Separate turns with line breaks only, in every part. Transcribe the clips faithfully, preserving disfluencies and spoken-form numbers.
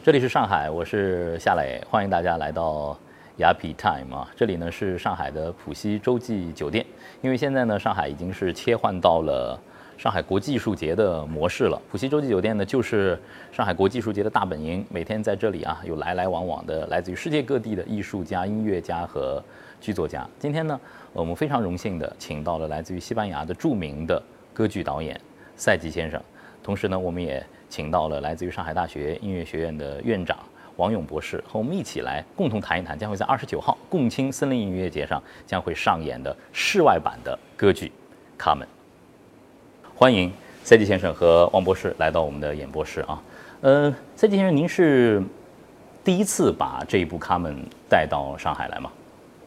这里是上海，我是夏磊，欢迎大家来到雅痞 Time 啊。这里呢是上海的浦西洲际酒店，因为现在呢上海已经是切换到了上海国际艺术节的模式了。浦西洲际酒店呢就是上海国际艺术节的大本营，每天在这里啊有来来往往的来自于世界各地的艺术家、音乐家和剧作家。今天呢我们非常荣幸的请到了来自于西班牙的著名的歌剧导演赛吉先生，同时呢我们也请到了来自于上海大学音乐学院的院长王勇博士，和我们一起来共同谈一谈将会在二十九号共青森林音乐节上将会上演的室外版的歌剧《卡门》。欢迎赛吉先生和王博士来到我们的演播室啊。呃，赛吉先生，您是第一次把这一部《卡门》带到上海来吗？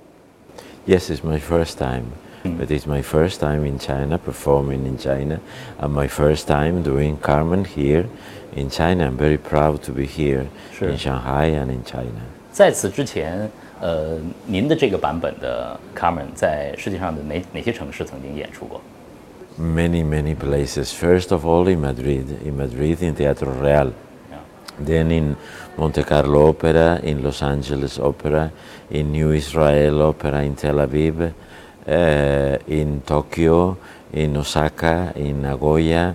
Yes, it's my first time. But it's my first time in China, performing in China, and my first time doing Carmen here in China. I'm very proud to be here in Shanghai and in China.
在此之前，呃，您的这个版本的 Carmen 在世界上的哪哪些城市曾经演出过？
Many, many places. First of all, in Madrid, in Madrid, in Teatro Real. Then in Monte Carlo Opera, in Los Angeles Opera, in New Israel Opera in Tel Aviv. Uh, in Tokyo, in Osaka, in Nagoya,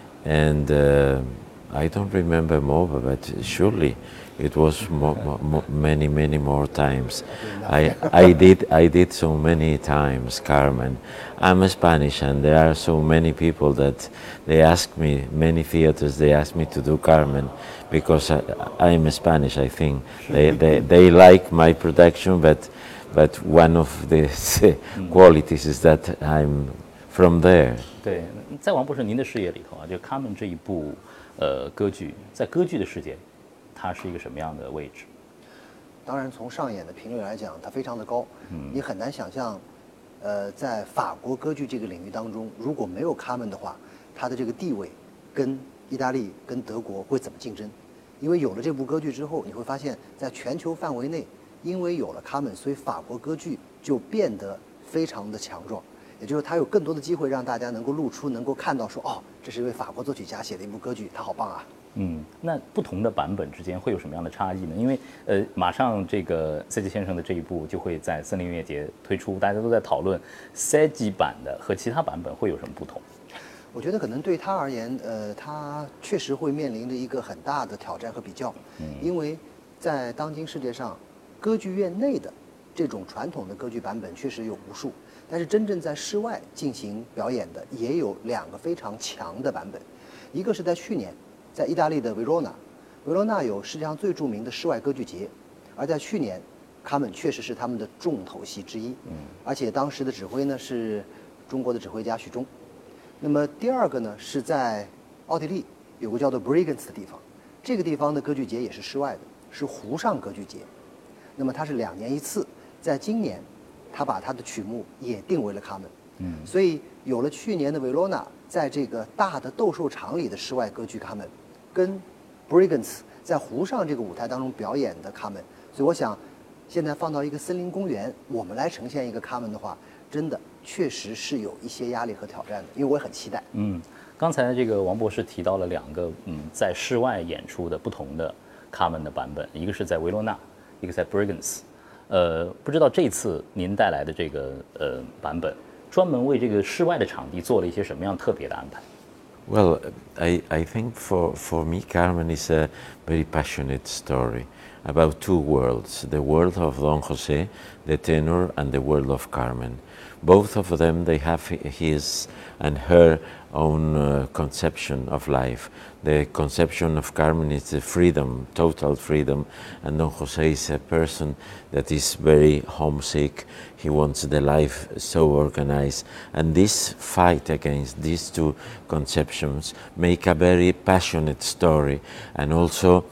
and uh, I don't remember more, but surely it was mo mo many, many more times. I, I did, I did so many times, Carmen. I'm Spanish, and there are so many people that they ask me, many theaters, they ask me to do Carmen, because I, I'm Spanish, I think. They, they, they like my production, but But one of the qualities is that I'm from there.
对，在王博士您的视野里头啊，就《卡门》这一部呃歌剧，在歌剧的世界，它是一个什么样的位置？
当然，从上演的频率来讲，它非常的高。嗯，你很难想象，呃，在法国歌剧这个领域当中，如果没有《卡门》的话，它的这个地位跟意大利、跟德国会怎么竞争？因为有了这部歌剧之后，你会发现在全球范围内。因为有了卡门，所以法国歌剧就变得非常的强壮，也就是它有更多的机会让大家能够露出，能够看到说，哦，这是一位法国作曲家写的一部歌剧，他好棒啊。
嗯，那不同的版本之间会有什么样的差异呢？因为呃，马上这个赛吉先生的这一部就会在森林音乐节推出，大家都在讨论赛吉版的和其他版本会有什么不同。
我觉得可能对他而言，呃，他确实会面临着一个很大的挑战和比较，嗯，因为在当今世界上。歌剧院内的这种传统的歌剧版本确实有无数，但是真正在室外进行表演的也有两个非常强的版本。一个是在去年，在意大利的维罗纳，维罗纳有世界上最著名的室外歌剧节，而在去年，卡门确实是他们的重头戏之一。嗯，而且当时的指挥呢是中国的指挥家许忠。那么第二个呢是在奥地利有个叫做 Bregenz 的地方，这个地方的歌剧节也是室外的，是湖上歌剧节。那么它是两年一次，在今年，他把他的曲目也定为了卡门。嗯，所以有了去年的维罗纳在这个大的斗兽场里的室外歌剧卡门，跟 Bregenz 在湖上这个舞台当中表演的卡门，所以我想，现在放到一个森林公园，我们来呈现一个卡门的话，真的确实是有一些压力和挑战的，因为我也很期待。
嗯，刚才这个王博士提到了两个嗯在室外演出的不同的卡门的版本，一个是在维罗纳。一个在 Bregenz， 呃，不知道这次您带来的这个呃版本，专门为这个室外的场地做了一些什么样特别的安排
？Well, I I think for for me, Carmen is a very passionate story about two worlds: the world of Don José, the tenor, and the world of Carmen. Both of them, they have his and her own uh, conception of life. The conception of Carmen is the freedom, total freedom, and Don José is a person that is very homesick. He wants the life so organized. And this fight against these two conceptions make a very passionate story, and also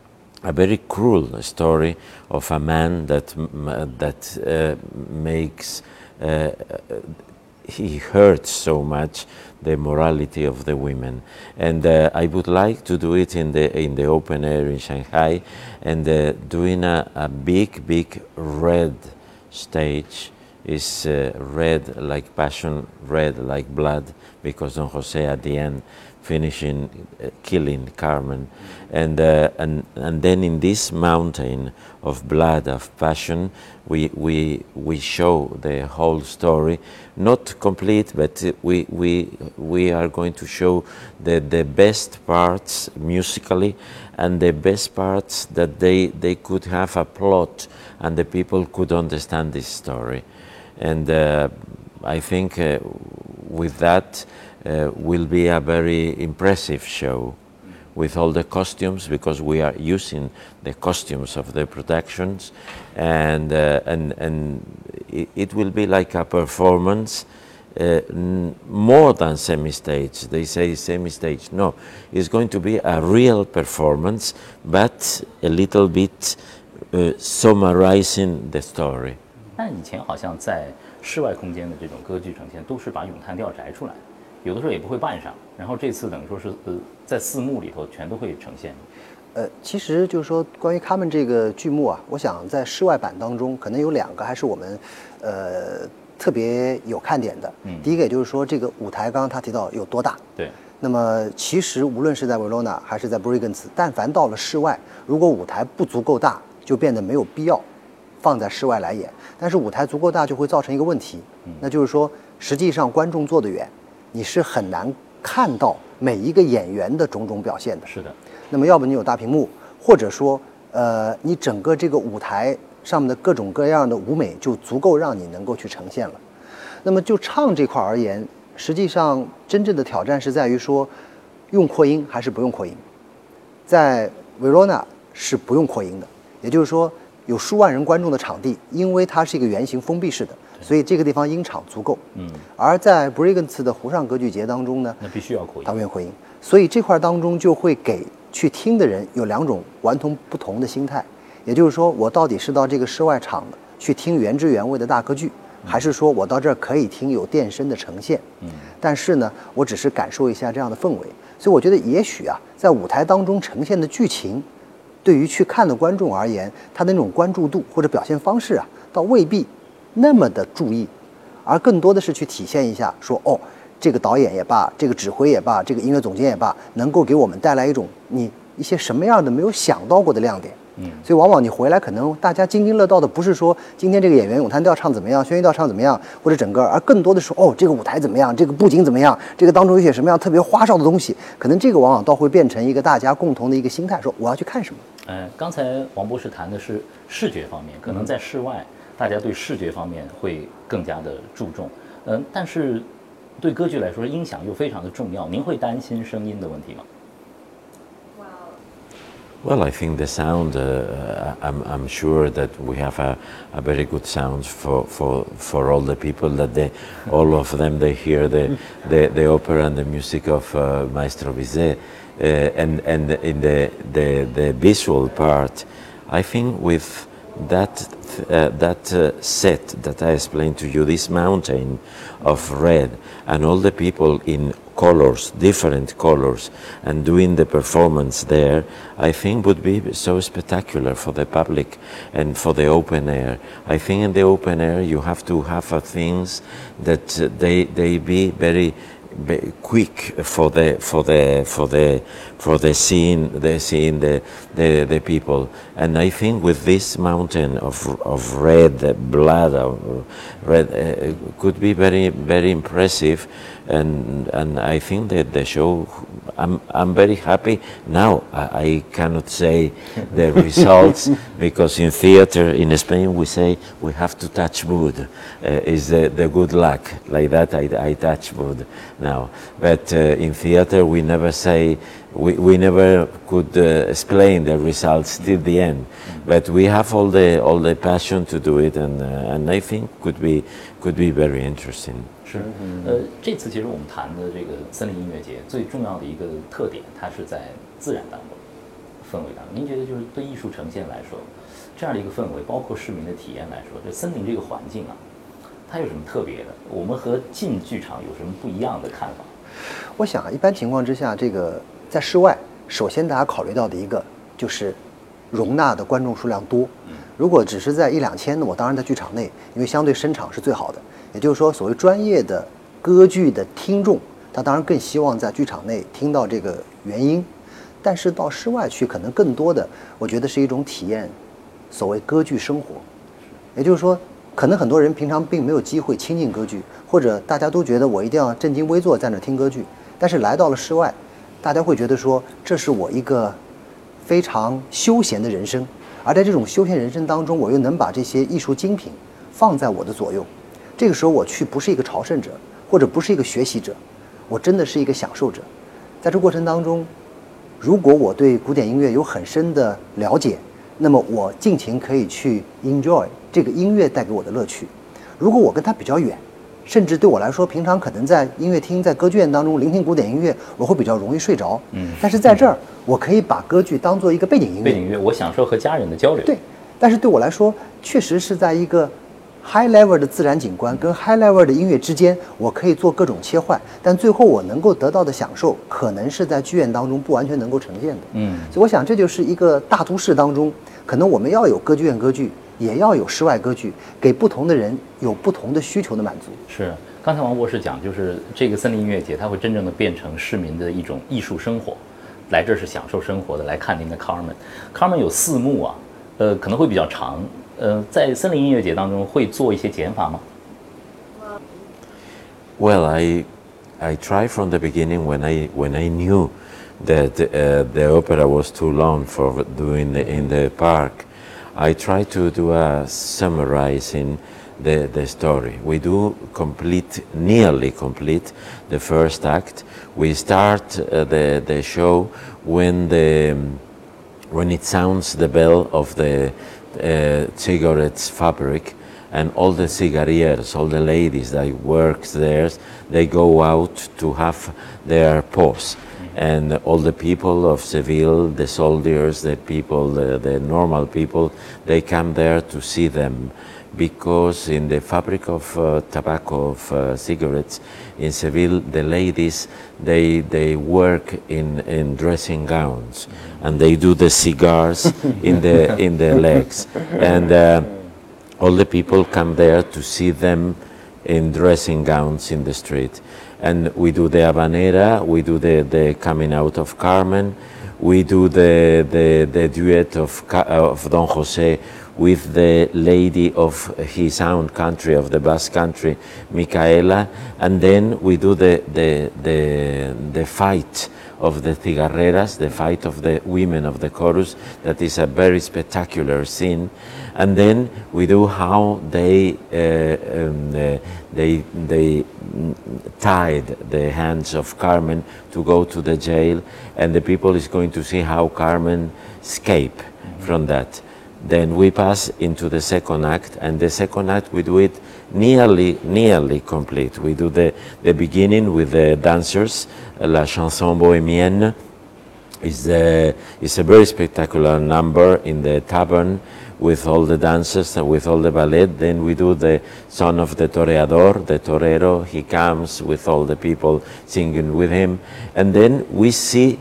a very cruel story of a man that, that uh, makes uh, he hurts so much the morality of the women, and uh, I would like to do it in the in the open air in Shanghai, and uh, doing a, a big big red stage is uh, red like passion, red like blood, because Don José at the end finishing uh, killing Carmen, and uh, and and then in this mountain of blood, of passion, we we we show the whole story, not complete, but we we we are going to show the the best parts musically, and the best parts that they they could have a plot, and the people could understand this story, and uh, I think uh, with that. Uh, will be a very impressive show with all the costumes, because we are using the costumes of the productions, and uh, and and it, it will be like a performance uh, n more than semi-stage. They say semi-stage. No, it's going to be a real performance, but a little bit uh, summarizing the story.
但以前好像在室外空间的这种歌剧呈现，都是把咏叹调摘出来。有的时候也不会扮上，然后这次等于说是呃在四幕里头全都会呈现。
呃，其实就是说关于他们这个剧目啊，我想在室外版当中可能有两个还是我们呃特别有看点的。嗯，第一个也就是说这个舞台，刚刚他提到有多大。
对。
那么其实无论是在维罗纳还是在 Brigance， 但凡到了室外，如果舞台不足够大，就变得没有必要放在室外来演。但是舞台足够大，就会造成一个问题，嗯、那就是说实际上观众坐得远。你是很难看到每一个演员的种种表现的。
是的。
那么要不你有大屏幕，或者说，呃，你整个这个舞台上面的各种各样的舞美就足够让你能够去呈现了。那么就唱这块而言，实际上真正的挑战是在于说，用扩音还是不用扩音。在维罗纳是不用扩音的，也就是说有数万人观众的场地，因为它是一个圆形封闭式的。所以这个地方音场足够，嗯，而在 Brigance 的湖上歌剧节当中呢，
那必须要扩音，
它不用扩音，所以这块当中就会给去听的人有两种完全不同的心态，也就是说，我到底是到这个室外场去听原汁原味的大歌剧，嗯、还是说我到这儿可以听有电声的呈现？嗯，但是呢，我只是感受一下这样的氛围，所以我觉得也许啊，在舞台当中呈现的剧情，对于去看的观众而言，他的那种关注度或者表现方式啊，倒未必那么的注意，而更多的是去体现一下说，哦，这个导演也罢，这个指挥也罢，这个音乐总监也罢，能够给我们带来一种你一些什么样的没有想到过的亮点。嗯，所以往往你回来，可能大家津津乐道的不是说今天这个演员咏叹调唱怎么样，宣叙调唱怎么样，或者整个，而更多的是哦，这个舞台怎么样，这个布景怎么样，这个当中有些什么样特别花哨的东西，可能这个往往倒会变成一个大家共同的一个心态，说我要去看什么。
呃，刚才王博士谈的是视觉方面，可能在室外。嗯，大家对视觉方面会更加的注重，嗯，但是对歌剧来说，音响又非常的重要。您会担心声音的问题吗？
Well, I think the sound. Uh, I'm, I'm sure that we have a, a very good sound for, for, for all the people that they, all of them they hear the, the, the opera and the music of uh, Maestro Bizet, uh, and and in the, the the visual part, I think with that uh, that uh, set that I explained to you, this mountain of red, and all the people in colors, different colors, and doing the performance there, I think would be so spectacular for the public and for the open air. I think in the open air you have to have uh, things that uh, they they be very quick for the for the for the for the scene the scene the the the people, and I think with this mountain of of red blood of red uh, could be very very impressive, and and I think that the show, I'm I'm very happy now. I, I cannot say the results because in theater in Spain we say we have to touch wood, uh, is the, the good luck, like that I, I touch wood now, but uh, in theater we never say, we, we never could uh, explain the results till the end, but we have all the all the passion to do it, and uh, and I think could be could be very interesting.
是，呃，这次其实我们谈的这个森林音乐节最重要的一个特点，它是在自然当中，氛围当中。您觉得就是对艺术呈现来说，这样的一个氛围，包括市民的体验来说，这森林这个环境啊，它有什么特别的？我们和进剧场有什么不一样的看法？
我想，一般情况之下，这个在室外，首先大家考虑到的一个就是容纳的观众数量多。如果只是在一两千，那我当然在剧场内，因为相对声场是最好的。也就是说，所谓专业的歌剧的听众， 他当然更希望在剧场内听到这个原音，但是到室外去，可能更多的，我觉得是一种体验，所谓歌剧生活。也就是说，可能很多人平常并没有机会亲近歌剧，或者大家都觉得我一定要正襟危坐在那听歌剧，但是来到了室外，大家会觉得说，这是我一个非常休闲的人生，而在这种休闲人生当中，我又能把这些艺术精品放在我的左右。这个时候我去不是一个朝圣者，或者不是一个学习者，我真的是一个享受者。在这过程当中，如果我对古典音乐有很深的了解，那么我尽情可以去 enjoy 这个音乐带给我的乐趣。如果我跟它比较远，甚至对我来说，平常可能在音乐厅、在歌剧院当中聆听古典音乐，我会比较容易睡着。嗯，但是在这儿，我可以把歌剧当做一个背景音乐。
背景音乐，我享受和家人的交流。
对，但是对我来说，确实是在一个 high level 的自然景观跟 high level 的音乐之间，我可以做各种切换，但最后我能够得到的享受，可能是在剧院当中不完全能够呈现的。嗯，所以我想这就是一个大都市当中，可能我们要有歌剧院歌剧，也要有室外歌剧，给不同的人有不同的需求的满足。
是，刚才王博士讲，就是这个森林音乐节，它会真正的变成市民的一种艺术生活，来这是享受生活的，来看您的 Carmen。Carmen 有四幕啊，呃，可能会比较长。呃，在森林音乐节当中会做一些减法吗？
Well, I I tried from the beginning when I when I knew that uh, the opera was too long for doing the, in the park. I tried to do a summarizing the the story. We do complete, nearly complete, the first act. We start uh, the the show when the when it sounds the bell of the uh, cigarettes fabric, and all the cigarettes, all the ladies that work there, they go out to have their pause. And all the people of Seville, the soldiers, the people, the, the normal people, they come there to see them. Because in the fabric of uh, tobacco, of uh, cigarettes, in Seville, the ladies, they, they work in, in dressing gowns, and they do the cigars in the, in the legs. And uh, all the people come there to see them in dressing gowns in the street. And we do the habanera, we do the, the coming out of Carmen, we do the, the, the duet of, of Don Jose with the lady of his own country, of the Basque country, Micaela, and then we do the, the, the, the fight of the cigarreras, the fight of the women of the chorus. That is a very spectacular scene. And then we do how they uh, um, uh, they they tied the hands of Carmen to go to the jail, and the people is going to see how Carmen escape mm-hmm. from that. Then we pass into the second act, and the second act we do it nearly, nearly complete. We do the, the beginning with the dancers, La Chanson Bohémienne. Is a, is a very spectacular number in the tavern with all the dancers and with all the ballet. Then we do the Son of the Toreador, the torero. He comes with all the people singing with him. And then we see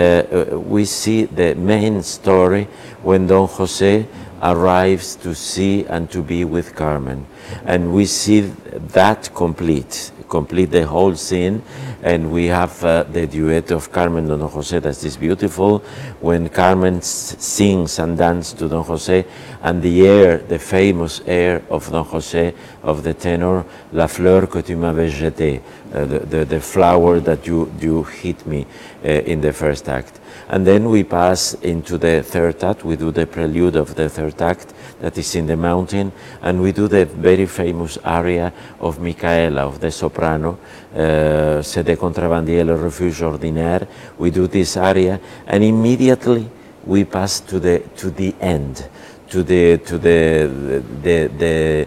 Uh, we see the main story when Don Jose arrives to see and to be with Carmen. And we see that complete, complete the whole scene. And we have uh, the duet of Carmen and Don Jose, that is beautiful, when Carmen s- sings and dances to Don Jose, and the air, the famous air of Don Jose, of the tenor, La fleur que tu m'avais jetée, uh, the, the, the flower that you, you hit me uh, in the first act. And then we pass into the third act. We do the prelude of the third act, that is in the mountain, and we do the very famous aria of Micaela, of the soprano, uh, C'est de contrabandier le refuge ordinaire. We do this aria, and immediately we pass to the to the end, to the to the the the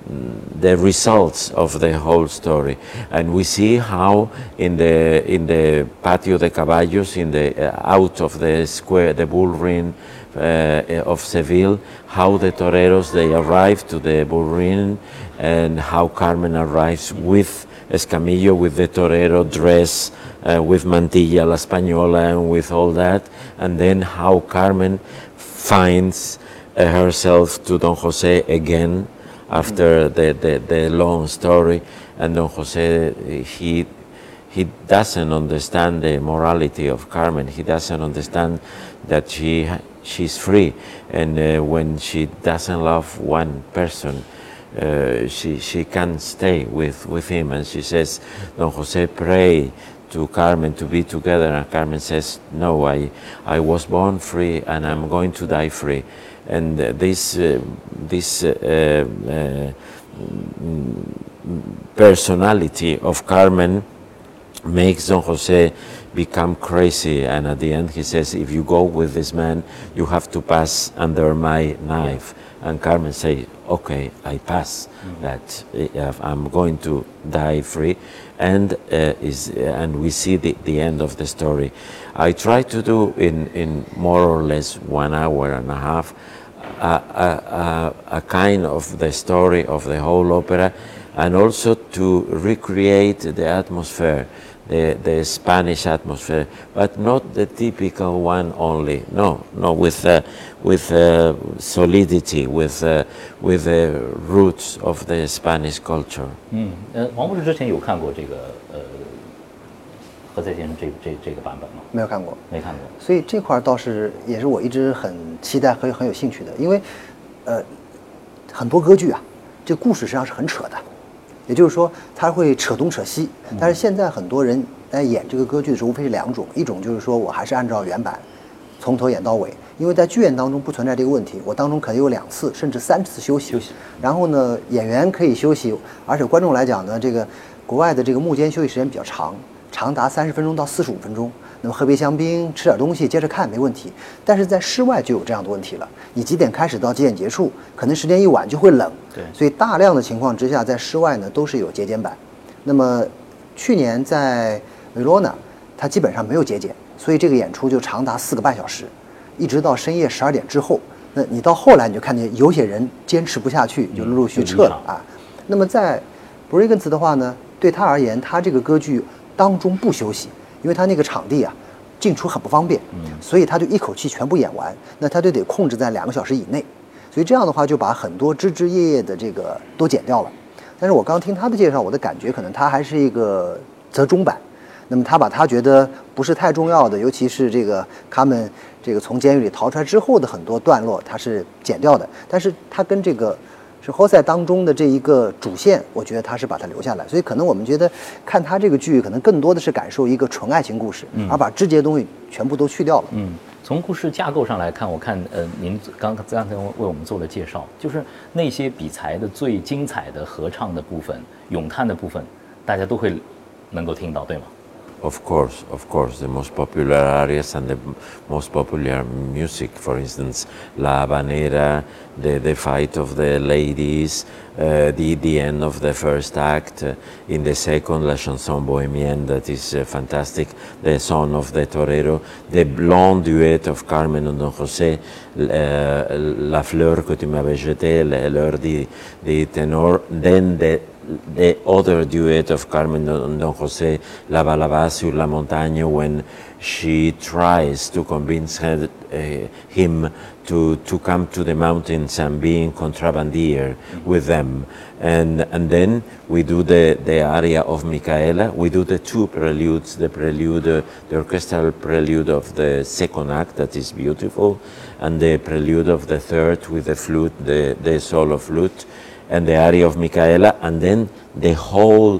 the results of the whole story. And we see how in the in the Patio de Caballos, in the uh, out of the square, the bull ring uh, of Seville, how the toreros, they arrive to the bull ring, and how Carmen arrives with Escamillo, with the torero dress, uh, with mantilla la española, and with all that, and then how Carmen finds uh, herself to Don Jose again after the, the, the long story. And Don Jose, he he doesn't understand the morality of Carmen. He doesn't understand that she she's free, and uh, when she doesn't love one person, uh, she she can't stay with with him. And she says, Don Jose, pray to Carmen to be together, and Carmen says, no, I I was born free, and I'm going to die free. And uh, this uh, this uh, uh, personality of Carmen makes Don Jose become crazy, and at the end he says, if you go with this man, you have to pass under my knife. And Carmen say, okay, I pass. Mm-hmm. That uh, I'm going to die free, and uh, is uh, and we see the, the end of the story. I try to do in in more or less one hour and a half a, a, a, a kind of the story of the whole opera, and also to recreate the atmosphere, the, the Spanish atmosphere, but not the typical one only. No, no, with uh, with uh, solidity, with uh, with the roots of the Spanish culture.
嗯，呃，王博士之前有看过这个呃何塞先生这这这个版本吗？
没有看过，
没看过。
所以这块倒是也是我一直很期待和很有兴趣的，因为呃很多歌剧啊，这故事实际上是很扯的。也就是说，他会扯东扯西，但是现在很多人在演这个歌剧的时候，无非是两种，一种就是说我还是按照原版，从头演到尾，因为在剧院当中不存在这个问题，我当中可能有两次甚至三次休息，
休息，
然后呢，演员可以休息，而且观众来讲呢，这个国外的这个幕间休息时间比较长，长达三十分钟到四十五分钟。那么喝杯香槟，吃点东西，接着看没问题。但是在室外就有这样的问题了，你几点开始到几点结束，可能时间一晚就会冷。
对，
所以大量的情况之下，在室外呢都是有节俭版。那么去年在维罗纳，它基本上没有节俭，所以这个演出就长达四个半小时，一直到深夜十二点之后。那你到后来你就看见有些人坚持不下去，就陆陆续撤了啊。那么在布瑞根茨的话呢，对他而言，他这个歌剧当中不休息。因为他那个场地啊，进出很不方便，所以他就一口气全部演完，那他就得控制在两个小时以内，所以这样的话就把很多枝枝叶叶的这个都剪掉了。但是我刚听他的介绍，我的感觉可能他还是一个折中版，那么他把他觉得不是太重要的，尤其是这个他们这个从监狱里逃出来之后的很多段落，他是剪掉的，但是他跟这个是侯赛当中的这一个主线，我觉得他是把它留下来，所以可能我们觉得看他这个剧，可能更多的是感受一个纯爱情故事，嗯、而把枝节东西全部都去掉了。
嗯，从故事架构上来看，我看呃，您刚刚才为我们做了介绍，就是那些比才的最精彩的合唱的部分、咏叹的部分，大家都会能够听到，对吗？
Of course, of course, the most popular arias and the most popular music, for instance, La Habanera, the, the fight of the ladies, uh, the, the end of the first act, uh, in the second, La Chanson Bohémienne, that is uh, fantastic, the Son of the Torero, the blonde duet of Carmen and Don José, uh, La Fleur que tu m'avais jetée, l'heure di, di tenor, then the the other duet of Carmen and Don José, La Balaba sur la Montagne, when she tries to convince her, uh, him to, to come to the mountains and be in contrabandier with them. And, and then we do the, the aria of Micaela, we do the two preludes, the prelude, uh, the orchestral prelude of the second act, that is beautiful, and the prelude of the third with the flute, the, the solo flute, and the aria of Micaela, and then the whole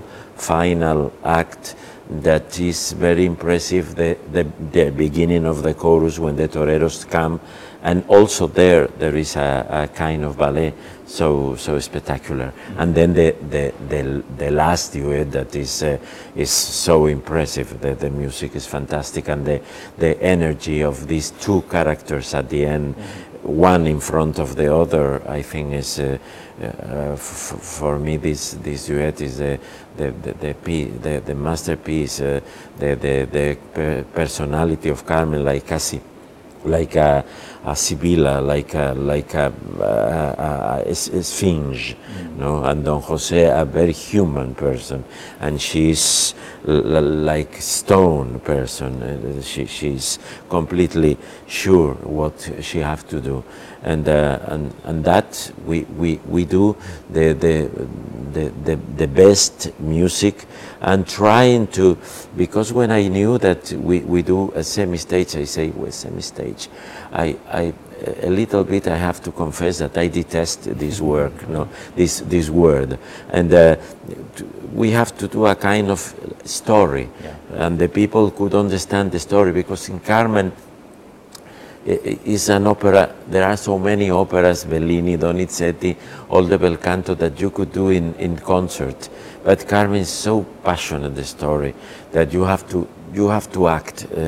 final act that is very impressive, the, the, the beginning of the chorus when the toreros come, and also there there is a, a kind of ballet so so spectacular. Mm-hmm. And then the, the, the, the last duet that is uh, is so impressive, the, the music is fantastic, and the, the energy of these two characters at the end, mm-hmm. one in front of the other, I think is uh, uh, f- for me this this duet is uh, the the the, the, the, the masterpiece, uh, the the the per- personality of Carmen, like Cassie, like a, a Sibilla, like a, like a, a, a, a Sphinx, mm. no? And Don Jose, a very human person, and she's l- like stone person. Uh, she, she's completely sure what she have to do, and uh, and and that we we, we do the the, the the the best music, and trying to, because when I knew that we, we do a semi-stage, I say well, semi-stage, I I a little bit I have to confess that I detest this work, no, this this word, and uh, we have to do a kind of story, yeah. And the people could understand the story, because in Carmen is an opera. There are so many operas, Bellini, Donizetti, all the bel canto, that you could do in, in concert. But Carmen is so passionate, the story, that you have to you have to act. Uh,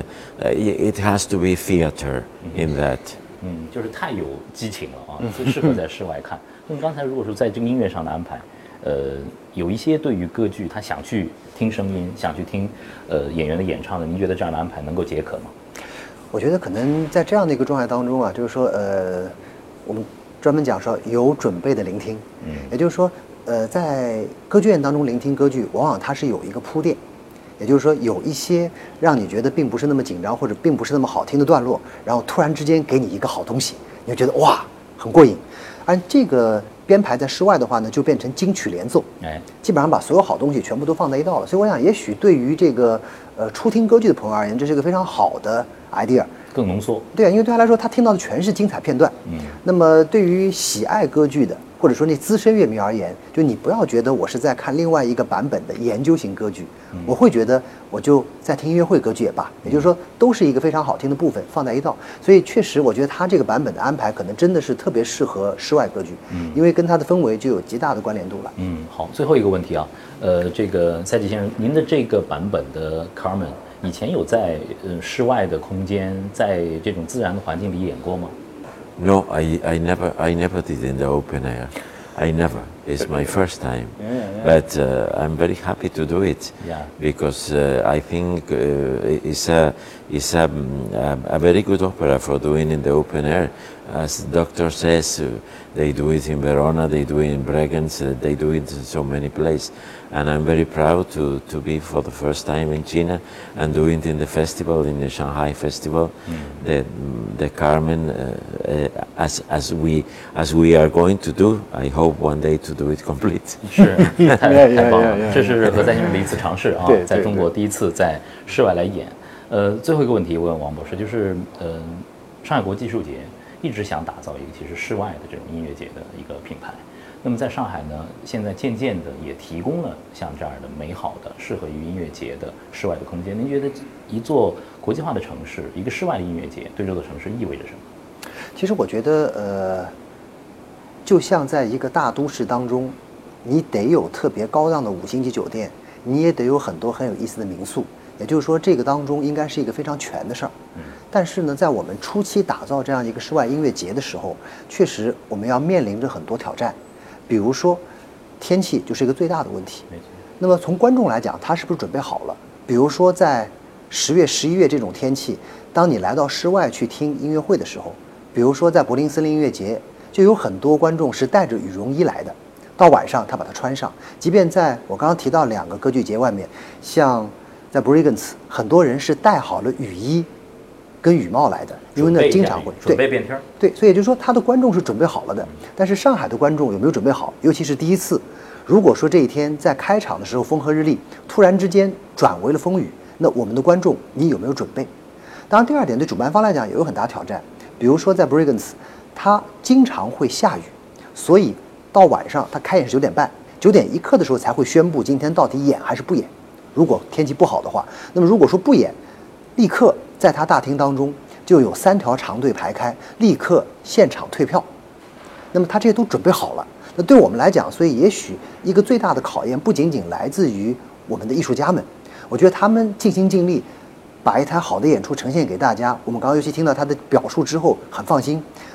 it has to be theater in that.
嗯，就是太有激情了啊，最适合在室外看。那么刚才如果说在这个音乐上的安排，呃，有一些对于歌剧他想去听声音，想去听呃演员的演唱的，您觉得这样的安排能够解渴吗？
我觉得可能在这样的一个状态当中啊，就是说，呃，我们专门讲说有准备的聆听，嗯，也就是说，呃，在歌剧院当中聆听歌剧，往往它是有一个铺垫，也就是说，有一些让你觉得并不是那么紧张或者并不是那么好听的段落，然后突然之间给你一个好东西，你就觉得哇，很过瘾。而这个编排在室外的话呢，就变成金曲联奏，哎，基本上把所有好东西全部都放在一道了。所以我想，也许对于这个呃初听歌剧的朋友而言，这是一个非常好的 idea，
更浓缩。
对啊，因为对他来说，他听到的全是精彩片段。嗯，那么对于喜爱歌剧的，或者说那资深乐迷而言，就你不要觉得我是在看另外一个版本的研究型歌剧，嗯、我会觉得我就在听音乐会歌剧也罢，也就是说都是一个非常好听的部分放在一道。所以确实，我觉得他这个版本的安排可能真的是特别适合室外歌剧，嗯，因为跟它的氛围就有极大的关联度了。
嗯，好，最后一个问题啊，呃，这个赛季先生，您的这个版本的 Carmen 以前有在呃室外的空间，在这种自然的环境里演过吗？
No, I, I never I never did in the open air. I never. It's my first time. Yeah, yeah. But uh, I'm very happy to do it. Yeah. Because uh, I think uh, it's a it's a, a, a very good opera for doing in the open air. As the doctor says, uh, they do it in Verona, they do it in Bregenz, uh, they do it in so many places. And I'm very proud to, to be for the first time in China and do it in the festival, in the Shanghai Festival, mm. the the Carmen, uh, uh, as as we as we are going to do. I hope one day to do it complete.
是，太太棒了，这是何赛先生的一次尝试啊，在中国第一次在室外来演。呃，最后一个问题问王博士，就是呃，上海国际艺术节一直想打造一个其实室外的这种音乐节的一个品牌。那么在上海呢，现在渐渐的也提供了像这样的美好的、适合于音乐节的室外的空间。您觉得一座国际化的城市，一个室外的音乐节，对这座城市意味着什么？
其实我觉得，呃，就像在一个大都市当中，你得有特别高档的五星级酒店，你也得有很多很有意思的民宿。也就是说，这个当中应该是一个非常全的事儿。嗯。但是呢，在我们初期打造这样一个室外音乐节的时候，确实我们要面临着很多挑战。比如说，天气就是一个最大的问题。那么从观众来讲，他是不是准备好了？比如说在十月、十一月这种天气，当你来到室外去听音乐会的时候，比如说在柏林森林音乐节，就有很多观众是带着羽绒衣来的，到晚上他把它穿上。即便在我刚刚提到两个歌剧节外面，像在 Bregenz， 很多人是带好了雨衣跟雨帽来的，因为那经常会
准备变天。
对，所以也就是说，他的观众是准备好了的。但是上海的观众有没有准备好？尤其是第一次，如果说这一天在开场的时候风和日丽，突然之间转为了风雨，那我们的观众你有没有准备？当然，第二点对主办方来讲也有很大挑战。比如说在 Bregenz， 它经常会下雨，所以到晚上它开演是九点半，九点一刻的时候才会宣布今天到底演还是不演。如果天气不好的话，那么如果说不演，立刻在他大厅当中就有三条长队排开，立刻现场退票。那么他这些都准备好了。那对我们来讲，所以也许一个最大的考验不仅仅来自于我们的艺术家们，我觉得他们尽心尽力把一台好的演出呈现给大家。我们刚刚尤其听到他的表述之后很放心，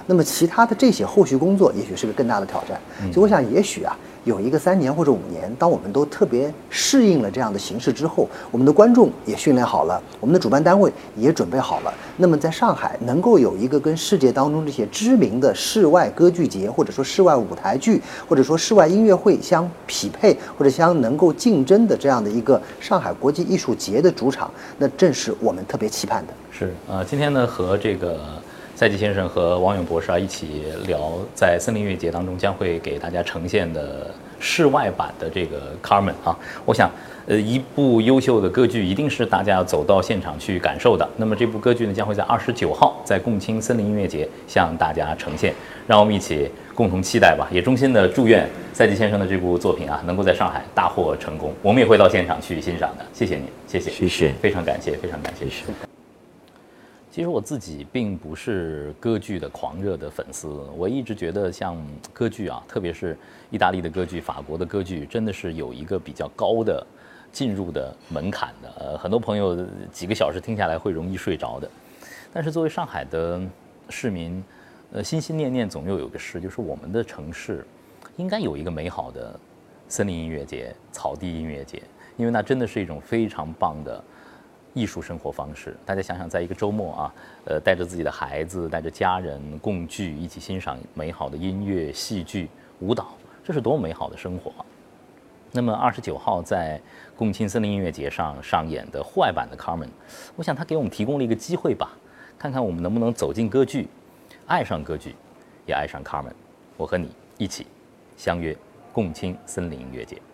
那么其他的这些后续工作也许是个更大的挑战。所以我想，也许啊，有一个三年或者五年，当我们都特别适应了这样的形式之后，我们的观众也训练好了，我们的主办单位也准备好了，那么在上海能够有一个跟世界当中这些知名的室外歌剧节，或者说室外舞台剧，或者说室外音乐会相匹配，或者相能够竞争的这样的一个上海国际艺术节的主场，那正是我们特别期盼的。
是呃，今天呢和这个赛季先生和王勇博士啊一起聊，在森林音乐节当中将会给大家呈现的室外版的这个 Carmen 啊，我想，呃，一部优秀的歌剧一定是大家要走到现场去感受的。那么这部歌剧呢，将会在二十九号在共青森林音乐节向大家呈现，让我们一起共同期待吧。也衷心的祝愿赛季先生的这部作品啊，能够在上海大获成功。我们也会到现场去欣赏的。谢谢您，谢谢，
谢谢，
非常感谢，非常感谢。
谢谢。
其实我自己并不是歌剧的狂热的粉丝，我一直觉得像歌剧啊，特别是意大利的歌剧、法国的歌剧，真的是有一个比较高的进入的门槛的。呃，很多朋友几个小时听下来会容易睡着的。但是作为上海的市民，呃，心心念念总有有个事，就是我们的城市应该有一个美好的森林音乐节、草地音乐节，因为那真的是一种非常棒的艺术生活方式。大家想想，在一个周末啊，呃，带着自己的孩子，带着家人共聚，一起欣赏美好的音乐、戏剧、舞蹈，这是多么美好的生活啊！那么二十九号在共青森林音乐节上上演的户外版的 Carmen， 我想它给我们提供了一个机会吧，看看我们能不能走进歌剧，爱上歌剧，也爱上 Carmen。我和你一起相约共青森林音乐节。